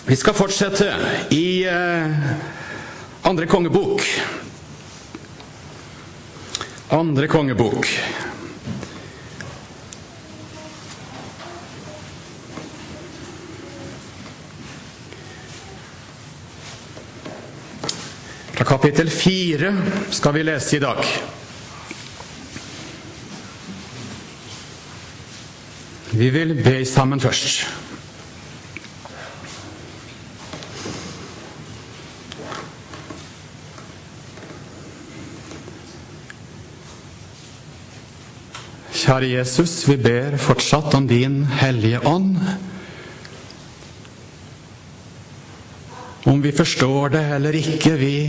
Vi skal fortsette i andre kongebok. Andre kongebok. Fra kapittel 4 skal vi lese i dag. Vi vil be sammen først. Kjære Jesus, vi ber fortsatt om din hellige ånd. Om vi forstår det eller ikke, vi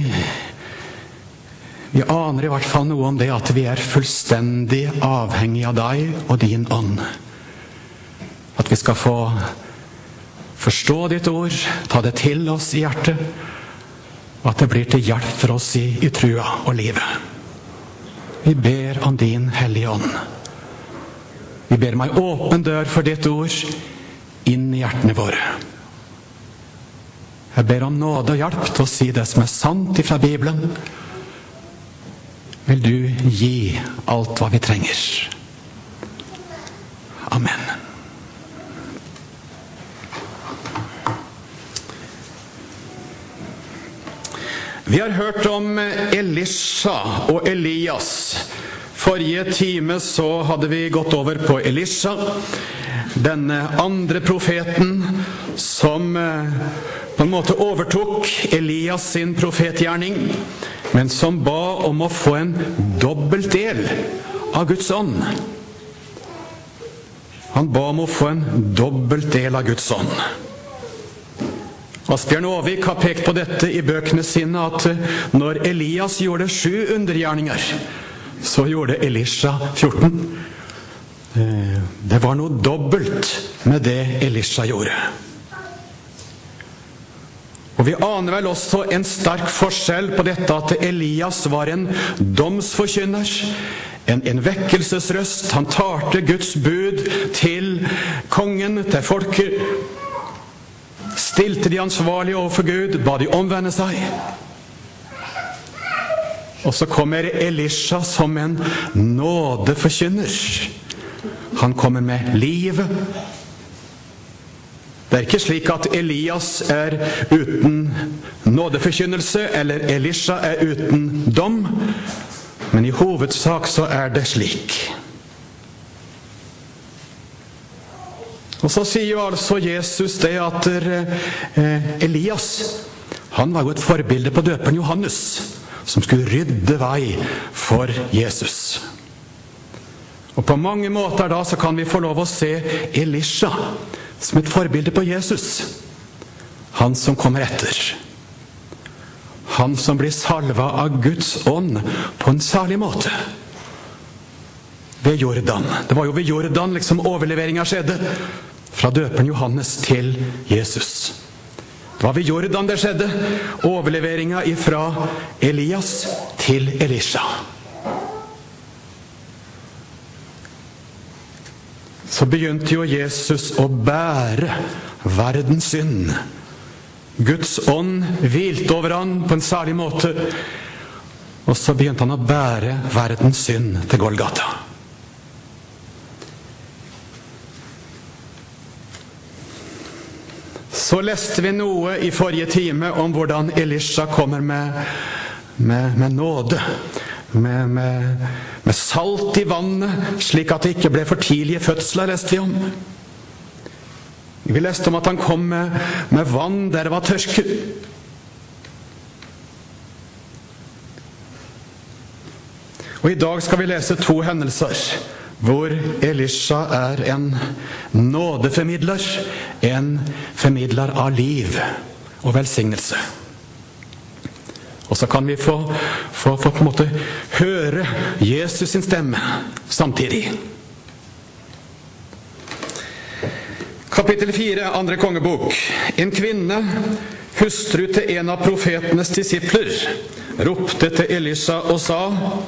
aner i hvert fall noe om det at vi er fullstendig avhengige av deg og din ånd. At vi skal få forstå ditt ord, ta det til oss i hjertet, og at det blir til hjelp for oss i trua og livet. Vi ber om din hellige ånd. Vi ber om en åpen dør for ditt ord inn i hjertene våre. Jeg ber om nåde og hjelp til å si det som er sant fra Bibelen. Vil du gi alt hva vi trenger. Amen. Vi har hørt om Elisha og Elias. Forrige time så hadde vi gått over på Elisha, denne andre profeten som på en måte overtok Elias sin profetgjerning, men som ba om å få en dobbelt del av Guds ånd. Han ba om å få en dobbelt del av Guds ånd. Asbjørn Aavik har pekt på dette i bøkene sine, at når Elias gjorde 7 undergjerninger, så gjorde Elisha 14. Det var noe dobbelt med det Elisha gjorde. Og vi aner vel også en sterk forskjell på dette at Elias var en domsforkynner, en vekkelsesrøst. Han talte Guds bud til kongen, til folket, stilte de ansvarlige overfor Gud, ba de omvende seg. Og så kommer Elisha som en nådeforkynner. Han kommer med livet. Det er ikke slik at Elias er uten nådeforkynnelse, eller Elisha er uten dom, men i hovedsak så er det slik. Og så sier jo altså Jesus det at Elias, han var jo et forbilde på døperen Johannes, som skulle rydde vei for Jesus. Og på mange måter da så kan vi få lov å se Elisha som et forbilde på Jesus. Han som kommer etter. Han som blir salva av Guds ånd på en særlig måte. Ved Jordan. Det var jo ved Jordan liksom overleveringen skjedde. Fra døperen Johannes til Jesus. Det var ved Jordan det skjedde. Overleveringen fra Elias til Elisha. Så begynte jo Jesus å bære verdens synd. Guds ånd hvilte over han på en særlig måte. Og så begynte han å bære verdens synd til Golgata. Så leste vi noe i forrige time om hvordan Elisha kommer med nåde. Med salt i vannet, slik at det ikke ble for tidlige fødsler, leste vi om. Vi leste om at han kom med vann der det var tørke. Og i dag skal vi lese 2 hendelser, hvor Elisha er en nådeformidler, en formidler av liv og velsignelse. Og så kan vi få på en måte høre Jesus sin stemme samtidig. Kapittel 4, andre kongebok. En kvinne, hustru til en av profetenes disipler, ropte til Elisha og sa: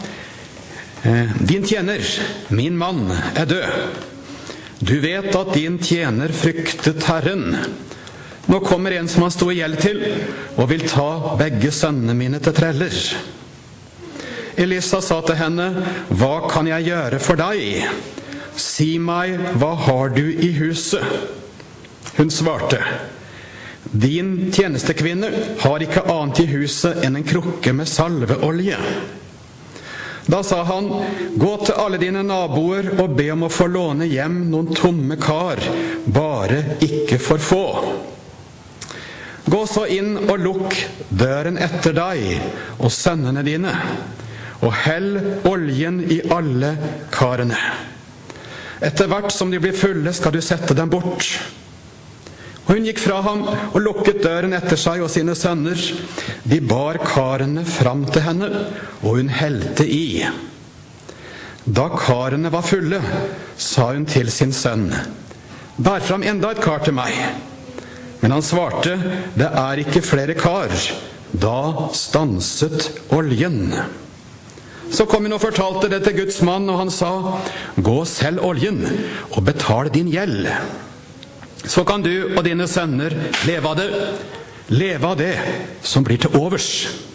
Din tjener, min mann, er død. Du vet at din tjener fryktet Herren. Nå kommer en som han stod i gjeld til, og vil ta begge sønnene mine til treller. Elisa sa til henne, hva kan jeg gjøre for deg? Si meg, hva har du i huset? Hun svarte, din tjenestekvinne har ikke annet i huset enn en krukke med salveolje. Da sa han, gå til alle dine naboer og be om å få låne hjem noen tomme kar, bare ikke for få. Gå så inn og lukk døren etter deg og sønnene dine, og hell oljen i alle karene. Etter hvert som de blir fulle, skal du sette dem bort. Og hun gikk fra ham og lukket døren etter seg og sine sønner. De bar karene fram til henne, og hun helte i. Da karene var fulle, sa hun til sin sønn, bær fram enda et kar til meg. Men han svarte, det er ikke flere kar. Da stanset oljen. Så kom hun og fortalte det til Guds mann, og han sa, gå og selg oljen og betal din gjeld. Så kan du og dine sønner leve av det som blir til overs.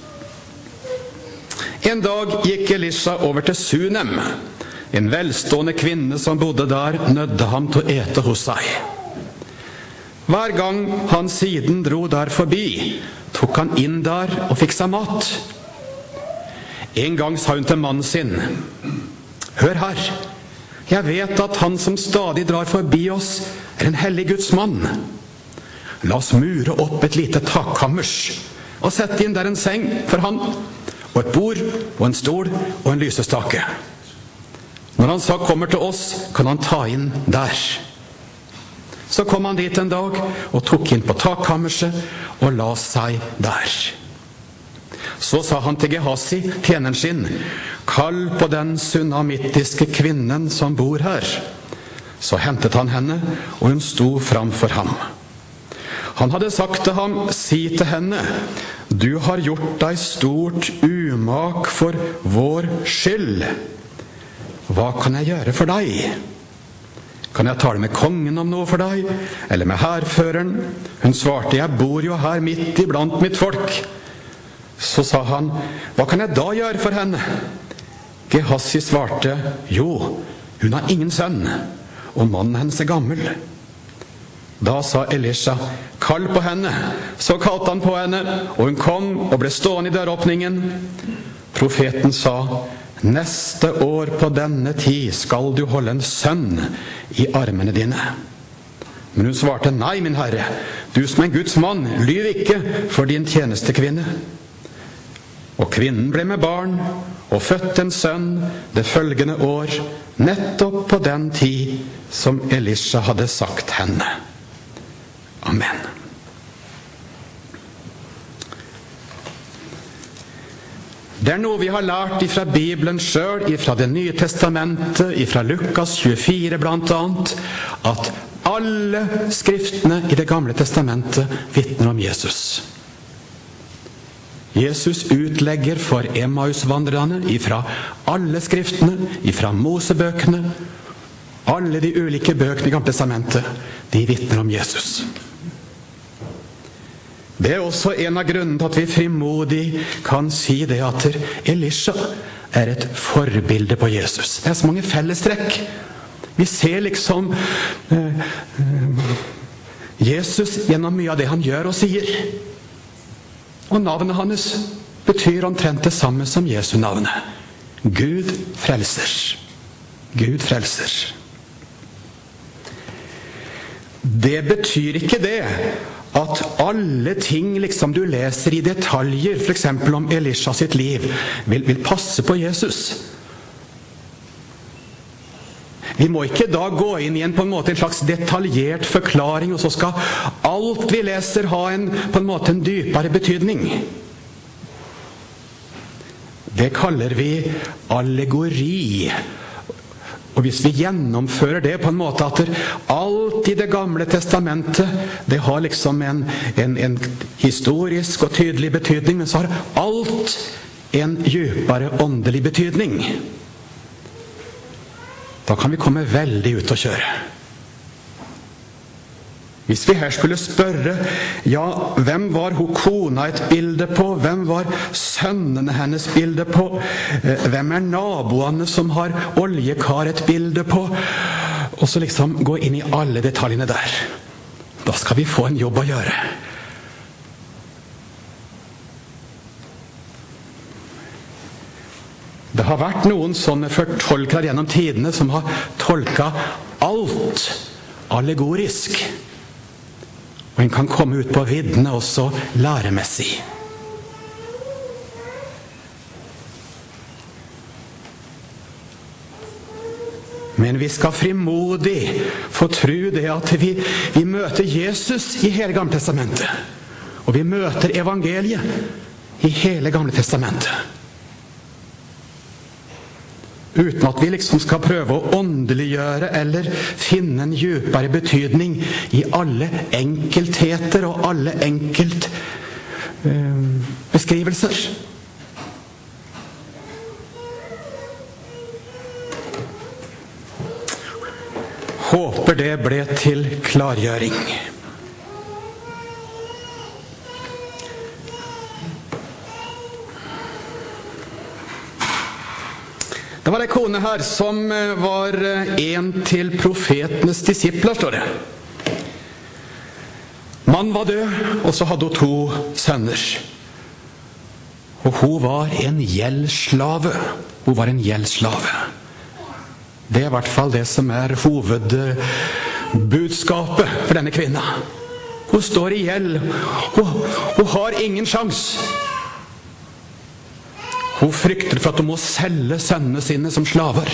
En dag gikk Elisha over til Sunem. En velstående kvinne som bodde der, nødde ham til å ete hos seg. Hver gang han siden dro der forbi, tok han inn der og fikk seg mat. En gang sa hun til mannen sin, hør her, jeg vet at han som stadig drar forbi oss er en hellig Guds mann. La oss mure opp et lite takkammers og sette inn der en seng for han, og et bord og en stol og en lysestake. Når han så kommer til oss, kan han ta inn der. Så kom han dit en dag og tok inn på takkammerset og la seg der. Så sa han til Gehazi, tjeneren sin, kall på den sunamittiske kvinnen som bor her. Så hentet han henne, og hun sto framfor ham. Han hadde sagt til ham, si til henne, du har gjort deg stort umak for vår skyld. Hva kan jeg gjøre for deg? Kan jeg tale med kongen om noe for deg, eller med hærføreren? Hun svarte, jeg bor jo her midt iblant mitt folk. Så sa han, hva kan jeg da gjøre for henne? Gehazi svarte, jo, hun har ingen sønn, og mannen hennes er gammel. Da sa Elisha, kall på henne. Så kalte han på henne, og hun kom og ble stående i døråpningen. Profeten sa, neste år på denne tid skal du holde en sønn i armene dine. Men hun svarte, nei, min herre, du som er en Guds mann, lyv ikke for din tjenestekvinne. Og kvinnen ble med barn og fødte en sønn det følgende år, nettopp på den tid som Elisha hadde sagt henne. Amen. Det er noe vi har lært ifra Bibelen selv, ifra det nye testamentet, ifra Lukas 24 blant annet, at alle skriftene i det gamle testamentet vitner om Jesus. Jesus utlegger for Emmaus-vandrerne ifra alle skriftene, ifra Mosebøkene, alle de ulike bøkene i Gamle testamentet, de vitner om Jesus. Det er også en av grunnene til at vi frimodig kan si det at Elisha er et forbilde på Jesus. Det er så mange fellestrekk. Vi ser liksom Jesus gjennom mye av det han gjør og sier. Og navnet hans betyr omtrent det samme som Jesu navnet. Gud frelser. Gud frelser. Det betyr ikke det at alle ting liksom du leser i detaljer, for eksempel om Elisha sitt liv, vil passe på Jesus. Vi må ikke da gå inn i en slags detaljert forklaring, og så skal alt vi leser ha en dypere betydning. Det kaller vi allegori. Og hvis vi gjennomfører det på en måte at alt i det gamle testamentet, det har liksom en historisk og tydelig betydning, men så har alt en dypere åndelig betydning. Da kan vi komme veldig ut å kjøre. Hvis vi her skulle spørre, ja, hvem var hun kona et bilde på? Hvem var sønnene hennes bilde på? Hvem naboene som har oljekar et bilde på? Og så liksom gå inn i alle detaljene der. Da skal vi få en jobb å gjøre. Det har vært noen sånne fortolkere gjennom tidene som har tolket alt allegorisk. Og en kan komme ut på viddene også læremessig. Men vi skal frimodig få tro det at vi møter Jesus i hele Gamle Testamentet. Og vi møter evangeliet i hele Gamle Testamentet. Uten at vi liksom skal prøve å åndeliggjøre eller finne en djupere betydning i alle enkeltheter og alle beskrivelser. Håper det ble til klargjøring. Det var en kone her som var en til profetenes disipler, står det. Mannen var død, og så hadde hun 2 sønner. Og hun var en gjeldsslave. Hun var en gjeldsslave. Det er i hvert fall det som er hovedbudskapet for denne kvinna. Hun står i gjeld. Hun har ingen sjans. Hun frykter for at hun må selge sønnene sine som slaver.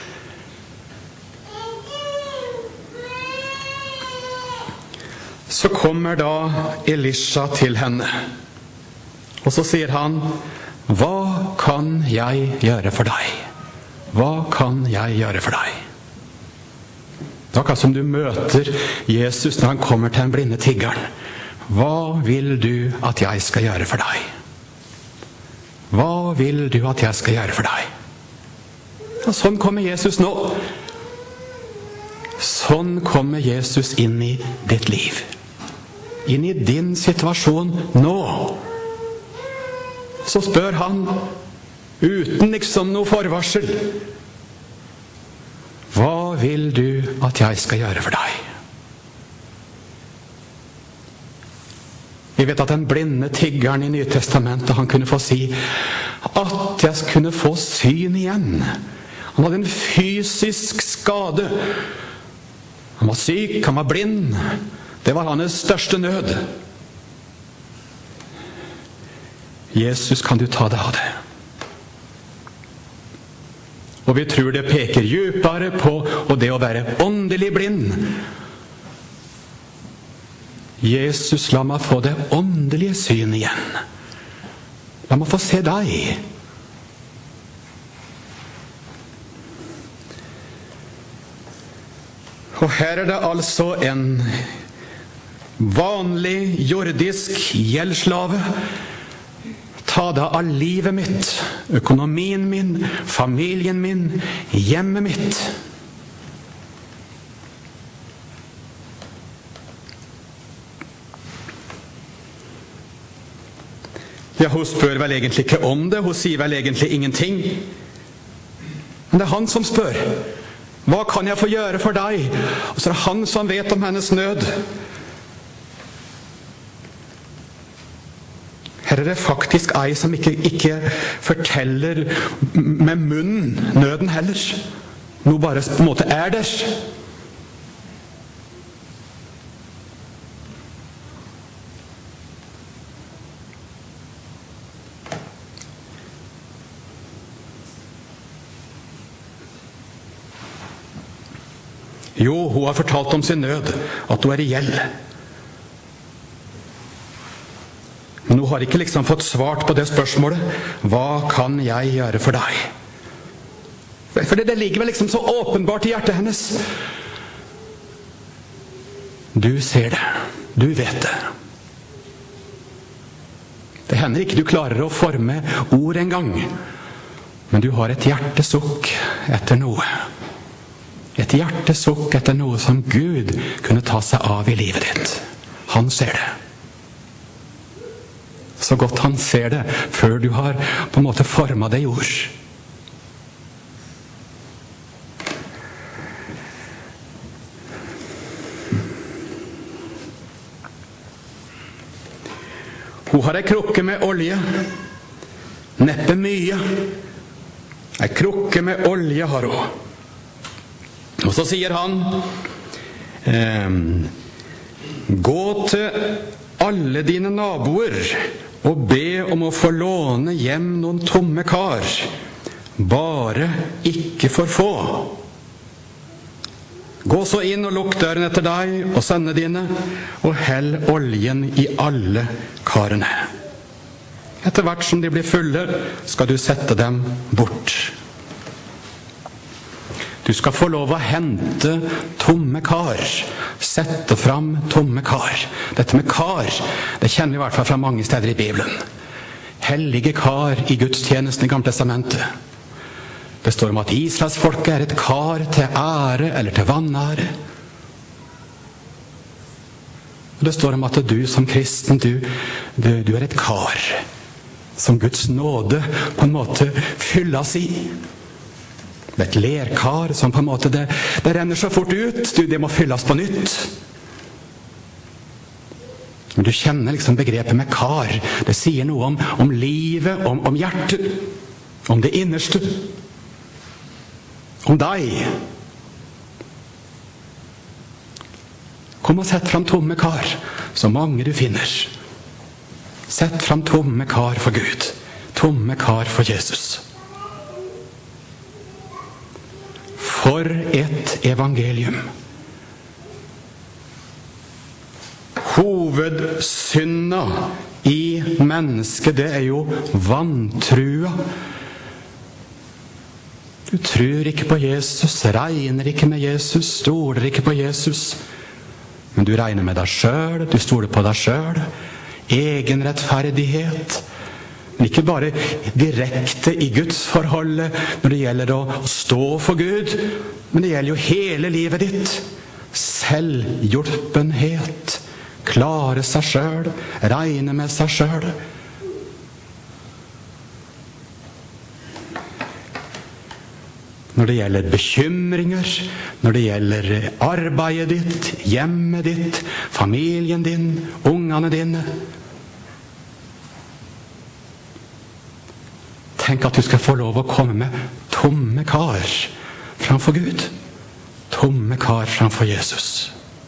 Så kommer da Elisha til henne. Og så sier han, hva kan jeg gjøre for deg? Hva kan jeg gjøre for deg? Det er akkurat som du møter Jesus når han kommer til den blinde tiggeren. Hva vil du at jeg skal gjøre for deg? Hva vil du at jeg skal gjøre for deg? Og sånn kommer Jesus nå. Sånn kommer Jesus inn i ditt liv. Inn i din situasjon nå. Så spør han, uten liksom noe forvarsel, hva vil du at jeg skal gjøre for deg? Vi vet at den blinde tiggeren i Nytestamentet, han kunne få si at jeg kunne få syn igjen. Han hadde en fysisk skade. Han var syk, han var blind. Det var hans største nød. Jesus, kan du ta deg av det? Og vi tror det peker djupere på og det å være åndelig blind. Jesus, la meg få det åndelige syn igjen. La meg få se deg. Og her er det altså en vanlig jordisk gjeldslave. Ta deg av livet mitt, økonomien min, familien min, hjemmet mitt. Ja, hun spør vel egentlig ikke om det, hun sier vel egentlig ingenting. Men det er han som spør. Hva kan jeg få gjøre for deg? Og så er det han som vet om hennes nød. Her er det faktisk ei som ikke forteller med munnen nøden heller. Noe bare på en måte er der. Jo, hun har fortalt om sin nød, at hun er i gjeld. Men hun har ikke liksom fått svart på det spørsmålet. Hva kan jeg gjøre for deg? For det ligger vel liksom så åpenbart i hjertet hennes. Du ser det. Du vet det. Det hender ikke du klarer å forme ord en gang. Men du har et hjertesukk etter noe. Et hjertesukk etter noe som Gud kunne ta seg av i livet ditt. Han ser det. Så godt han ser det, før du har på en måte formet det i ord. Hun har en krukke med olje. Neppe mye. En krukke med olje har hun. Og så sier han, gå til alle dine naboer og be om å få låne hjem noen tomme kar, bare ikke for få. Gå så inn og lukk døren etter deg og sønnene dine, og hell oljen i alle karene. Etter hvert som de blir fulle, skal du sette dem bort. Du skal få lov å hente tomme kar, sette fram tomme kar. Dette med kar, det kjenner vi i hvert fall fra mange steder i Bibelen. Hellige kar i gudstjenesten i Gamle Testamentet. Det står om at Israels folke er et kar til ære eller til vanære. Og det står om at du som kristen, du er et kar som Guds nåde på en måte fylles i. Det er et lerkar som på en måte det renner så fort ut, det må fylles på nytt. Men du kjenner liksom begrepet med kar. Det sier noe om livet, om hjertet, om det innerste, om deg. Kom og sett fram tomme kar, så mange du finner. Sett fram tomme kar for Gud, tomme kar for Jesus. For et evangelium. Hovedsynda i mennesket, det er jo vantrua. Du tror ikke på Jesus, regner ikke med Jesus, stoler ikke på Jesus. Men du regner med deg selv, du stoler på deg selv. Egen rettferdighet. Men ikke bare direkte i Guds forholdet når det gjelder å stå for Gud, men det gjelder jo hele livet ditt. Selvhjulpenhet, klare seg selv, regne med seg selv. Når det gjelder bekymringer, når det gjelder arbeidet ditt, hjemmet ditt, familien din, ungene dine. Tenk at du skal få lov å komme med tomme kar framfor Gud. Tomme kar framfor Jesus.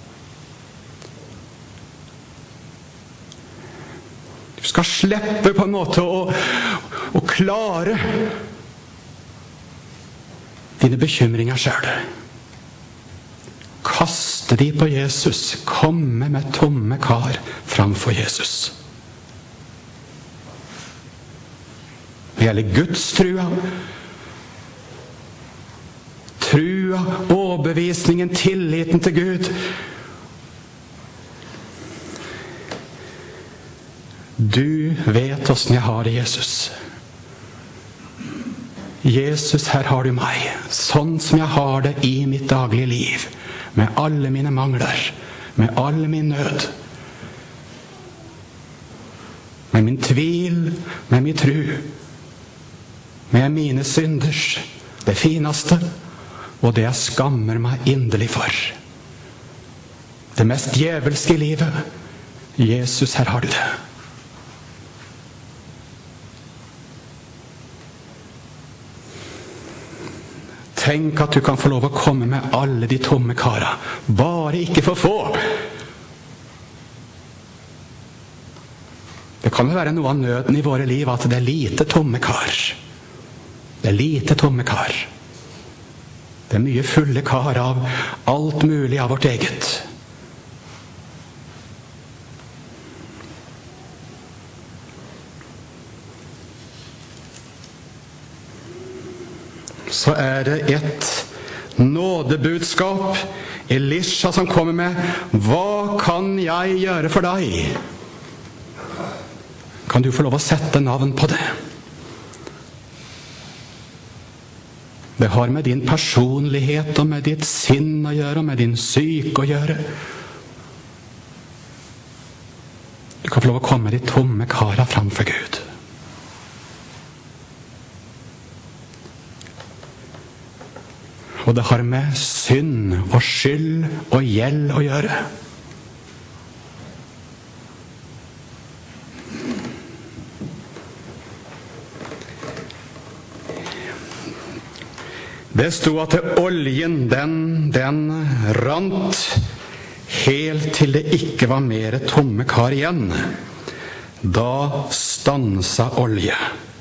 Du skal slippe på en måte å klare dine bekymringer selv. Kaste de på Jesus. Komme med tomme kar framfor Jesus. Det gjelder Guds trua, overbevisningen, tilliten til Gud. Du vet hvordan jeg har det, Jesus. Jesus, her har du meg, sånn som jeg har det i mitt daglige liv, med alle mine mangler, med all min nød, med min tvil, med min tru, med mine synders, det fineste, og det jeg skammer meg inderlig for. Det mest djevelske i livet. Jesus, her har du det. Tenk at du kan få lov å komme med alle de tomme kara. Bare ikke for få. Det kan jo være noe av nøden i våre liv at det er lite tomme kar. Det er lite tomme kar. Det er mye fulle kar av alt mulig av vårt eget. Så er det et nådebudskap Elisha som kommer med. Hva kan jeg gjøre for deg? Kan du få lov å sette navn på det? Det har med din personlighet og med ditt sinn å gjøre, og med din syke å gjøre. Du kan få lov å komme de tomme kara framfor Gud. Og det har med synd og skyld og gjeld å gjøre. Det stod at oljen, den rant helt til det ikke var mer tomme kar igjen. Da stansa olje.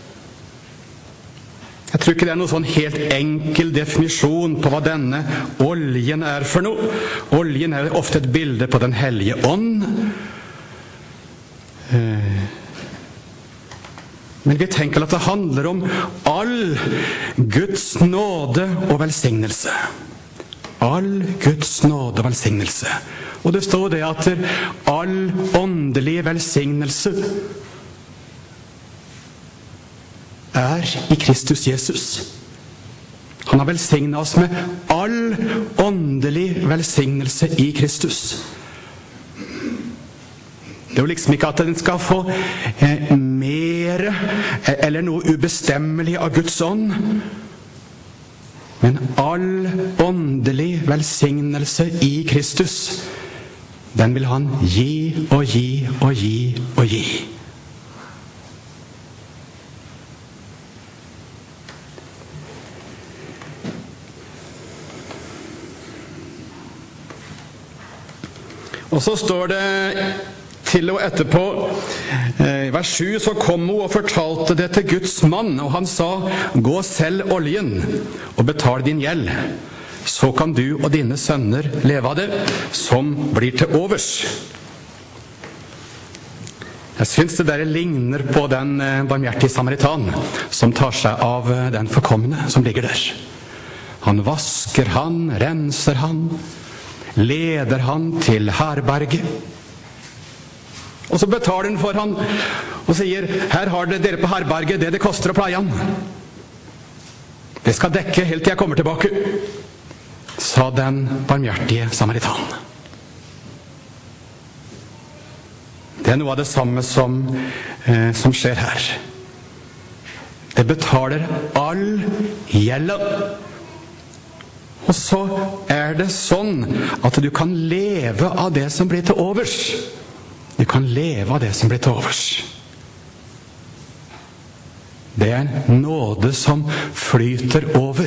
Jeg tror ikke det er noen sånn helt enkel definisjon på hva denne oljen er for noe. Oljen er ofte et bilde på den hellige ånd. Men vi tenker at det handler om all Guds nåde og velsignelse. All Guds nåde og velsignelse. Og det står det at all åndelig velsignelse er i Kristus Jesus. Han har velsignet oss med all åndelig velsignelse i Kristus. Det er jo liksom ikke at den skal få mer eller noe ubestemmelig av Guds ånd, men all åndelig velsignelse i Kristus, den vil han gi og gi og gi og gi. Og så står det til og etterpå, i vers 7, så kom hun og fortalte det til Guds mann, og han sa, gå selv oljen og betal din gjeld, så kan du og dine sønner leve av det, som blir til overs. Jeg synes det der ligner på den barmhjertige samaritan, som tar seg av den forkomne som ligger der. Han vasker han, renser han, leder han til herberget. Og så betaler han for han og sier, her har dere på herberget det koster å pleie han. Det skal dekke helt til jeg kommer tilbake, sa den barmhjertige samaritan. Det er noe av det samme som skjer her. Det betaler all gjelda. Og så er det sånn at du kan leve av det som blir til overs. Du kan leve av det som blir til overs. Det er en nåde som flyter over.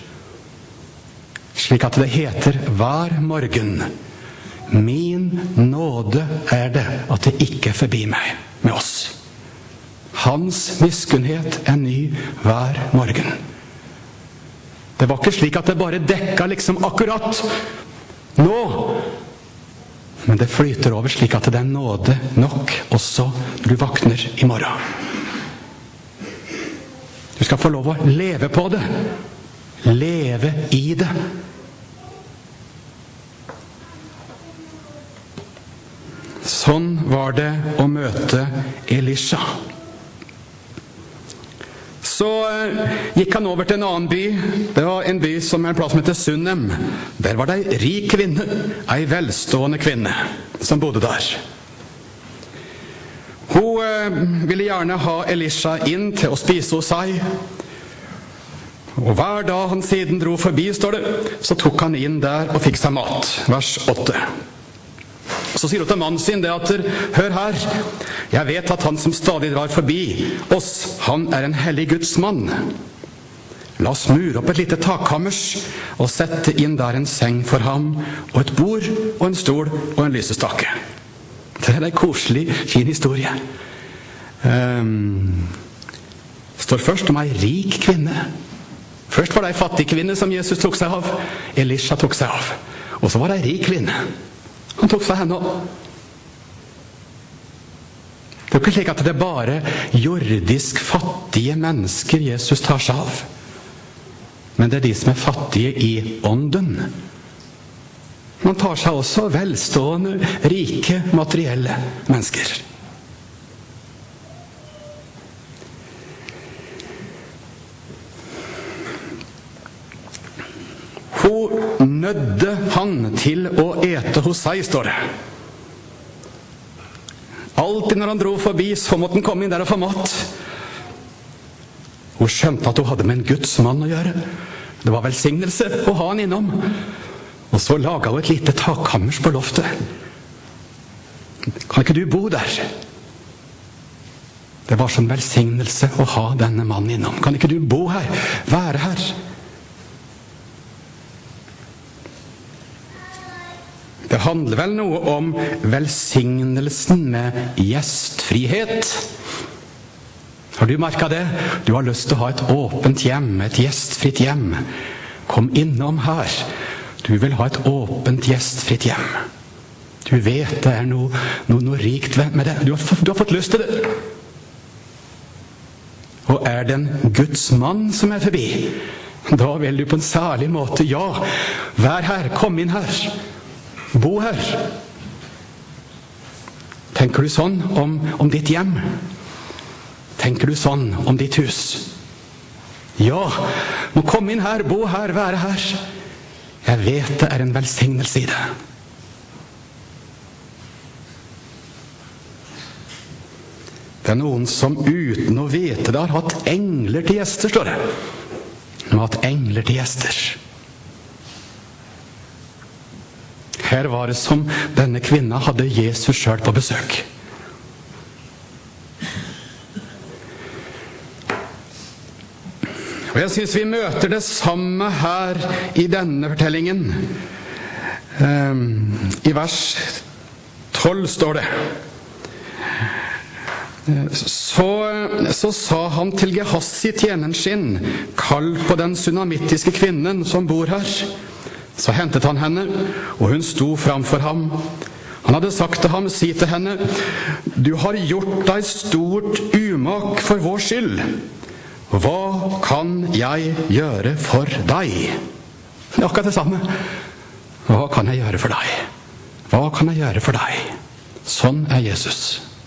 Slik at det heter hver morgen, min nåde er det at det ikke er forbi meg med oss. Hans miskunnhet er ny hver morgen. Det var ikke slik at det bare dekka liksom akkurat nå, men det flyter over slik at det er nåde nok også når du våkner i morgen. Du skal få lov å leve på det, leve i det. Sånn var det å møte Elisha. Så gikk han over til en annen by. Det var en by som er en plass som heter Sunnem. Der var det en rik kvinne, en velstående kvinne, som bodde der. Hun ville gjerne ha Elisha inn til å spise hos seg. Og hver dag han siden dro forbi, står det, så tok han inn der og fikk seg mat. Vers 8. Så sier hun til mannen sin det at, hør her, jeg vet at han som stadig drar forbi oss, han er en hellig Guds mann. La oss mure opp et lite takkammers og sette inn der en seng for ham, og et bord og en stol og en lysestake. Det er en koselig, fin historie. Det står først om en rik kvinne. Først var det en fattig kvinne som Jesus tok seg av. Elisha tok seg av. Og så var det en rik kvinne. Han tok seg henne også. Det er ikke slik at det er bare jordisk fattige mennesker Jesus tar seg av. Men det er de som er fattige i ånden. Man tar seg også velstående, rike, materielle mennesker. nødde han til å ete hos seg, står det. Alltid når han dro forbi, så måtte han komme inn der og få mat. Hun skjønte at hun hadde med en Guds mann å gjøre. Det var velsignelse å ha han innom. Og så laget hun et lite takhammers på loftet. Kan ikke du bo der? Det var sånn velsignelse å ha denne mannen innom. Kan ikke du bo her? Være her? Det handler vel noe om velsignelsen med gjestfrihet. Har du merket det? Du har lyst til å ha et åpent hjem, et gjestfritt hjem. Kom innom her. Du vil ha et åpent gjestfritt hjem. Du vet det er noe rikt med det. Du har fått lyst til det. Og er det en Guds mann som er forbi, da vil du på en særlig måte, ja, vær her, kom inn her. Bo her. Tenker du sånn om ditt hjem? Tenker du sånn om ditt hus? Ja, må komme inn her, bo her, være her. Jeg vet det er en velsignelse i det. Det er noen som uten å vite det har hatt engler til gjester, står det. De har hatt engler til gjester. Her var det som denne kvinna hadde Jesus selv på besøk. Og jeg synes vi møter det samme her i denne fortellingen. I vers 12 står det. Så sa han til Gehassi, tjeneren sin, kall på den sunamittiske kvinnen som bor her. Så hentet han henne, og hun sto framfor ham. Han hadde sagt til ham, si til henne, du har gjort deg stort umak for vår skyld. Hva kan jeg gjøre for deg? Det er akkurat det samme. Hva kan jeg gjøre for deg? Hva kan jeg gjøre for deg? Sånn er Jesus.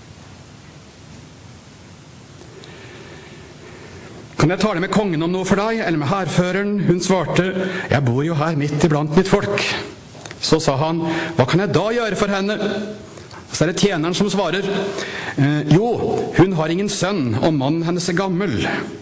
Kan jeg tale med kongen om noe for deg, eller med hærføreren? Hun svarte, jeg bor jo her midt iblant mitt folk. Så sa han, hva kan jeg da gjøre for henne? Så er det tjeneren som svarer, jo, hun har ingen sønn, og mannen hennes er gammel.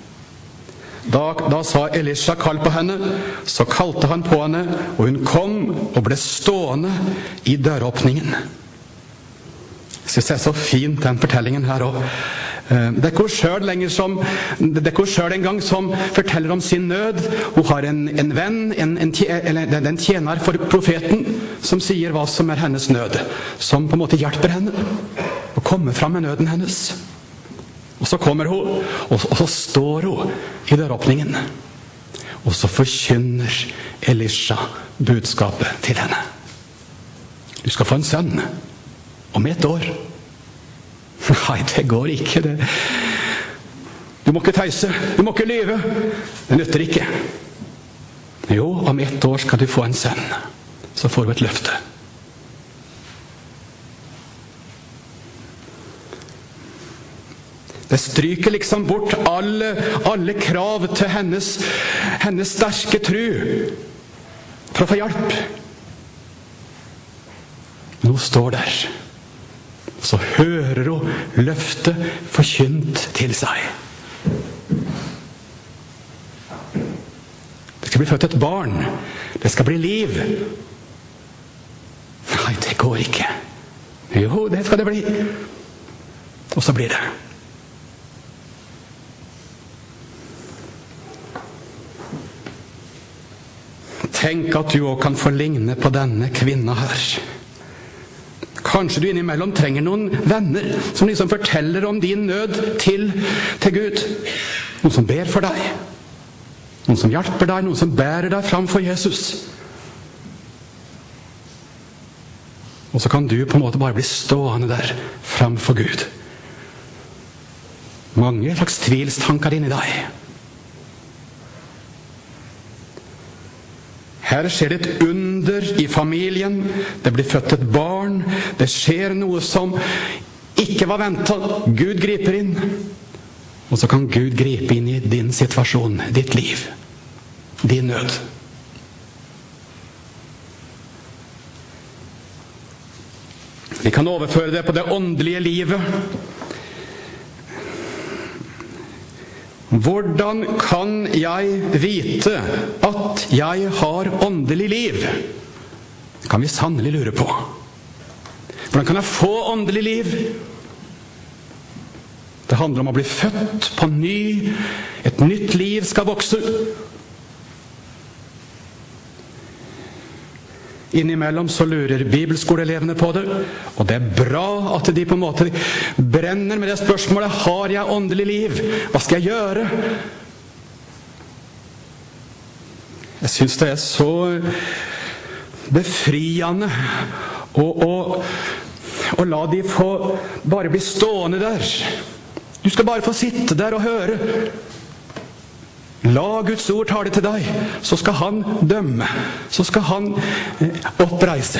Da sa Elisha, kall på henne, så kalte han på henne, og hun kom og ble stående i døråpningen. Jeg synes det er så fint, den fortellingen her også. Det er ikke hun selv en gang som forteller om sin nød. Hun har en venn, en tjener for profeten, som sier hva som er hennes nød, som på en måte hjelper henne å komme fram med nøden hennes. Og så kommer hun, og så står hun i døråpningen, og så forkynner Elisha budskapet til henne. Du skal få en sønn om 1 år. Nei, det går ikke. Du må ikke teise, du må ikke lyve. Det nytter ikke. Jo, om 1 år skal du få en sønn. Så får du et løfte. Det stryker liksom bort alle krav til hennes sterke tro for å få hjelp. Nå står der. Så hører hun løftet forkynt til seg. Det skal bli født et barn. Det skal bli liv. Nei, det går ikke. Jo, det skal det bli. Og så blir det. Tenk at du også kan få ligne på denne kvinna her. Kanskje du innimellom trenger noen venner som liksom forteller om din nød til Gud. Noen som ber for deg. Noen som hjelper deg, noen som bærer deg fram for Jesus. Og så kan du på en måte bare bli stående der fram for Gud. Mange slags tvilstanker inni deg. Her skjer det et under i familien. Det blir født et barn. Det skjer noe som ikke var ventet. Gud griper inn. Og så kan Gud gripe inn i din situasjon, ditt liv, din nød. Vi kan overføre det på det åndelige livet. Hvordan kan jeg vite at jeg har åndelig liv? Det kan vi sannelig lure på. Hvordan kan jeg få åndelig liv? Det handler om å bli født på ny. Et nytt liv skal vokse. Innimellom så lurer bibelskoleelevene på det, og det er bra at de på en måte brenner med det spørsmålet: har jeg åndelig liv? Hva skal jeg gjøre? Jeg synes det er så befriende å la de få bare bli stående der. Du skal bare få sitte der og høre. La Guds ord tale til deg, så skal han dømme, så skal han oppreise.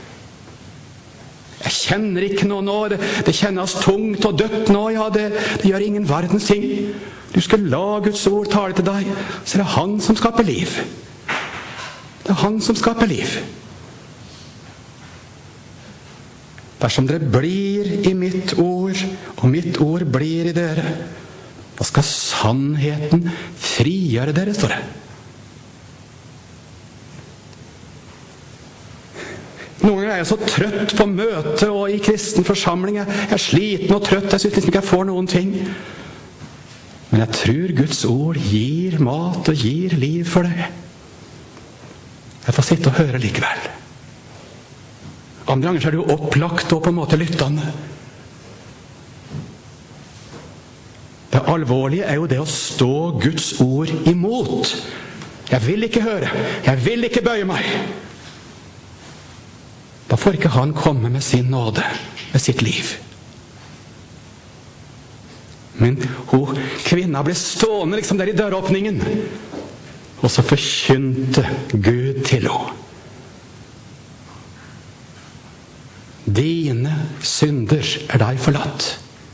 Jeg kjenner ikke noe nå, det kjennes tungt og dødt nå, ja, det gjør ingen verdens ting. Du skal la Guds ord tale til deg, så er det han som skaper liv. Det er han som skaper liv. Dersom dere blir i mitt ord, og mitt ord blir i dere, da skal sannheten frigjøre dere, står det. Noen ganger er jeg så trøtt på møte og i kristen forsamling. Jeg er sliten og trøtt, jeg synes liksom ikke jeg får noen ting. Men jeg tror Guds ord gir mat og gir liv for det. Jeg får sitte og høre likevel. Andre ganger så er du opplagt og på en måte lyttende. Det alvorlige er jo det å stå Guds ord imot. Jeg vil ikke høre. Jeg vil ikke bøye meg. Da får ikke han komme med sin nåde, med sitt liv. Men kvinna ble stående liksom der i døråpningen, og så forkynte Gud til henne: dine synder er deg forlatt.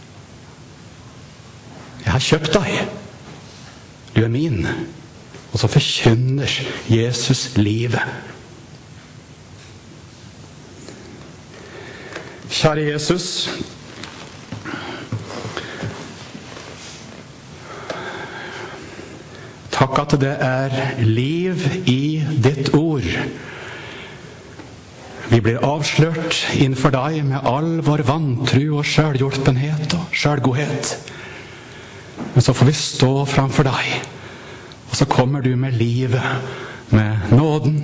Jeg har kjøpt deg. Du er min. Og så forkynner Jesus livet. Kjære Jesus, takk at det er liv i ditt ord. Vi blir avslørt innenfor deg med all vår vantro og selvhjulpenhet og selvgodhet. Men så får vi stå framfor deg, og så kommer du med livet, med nåden,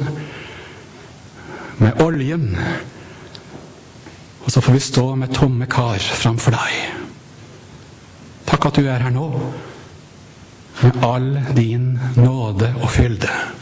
med oljen, og så får vi stå med tomme kar framfor deg. Takk at du er her nå, med all din nåde og fylde.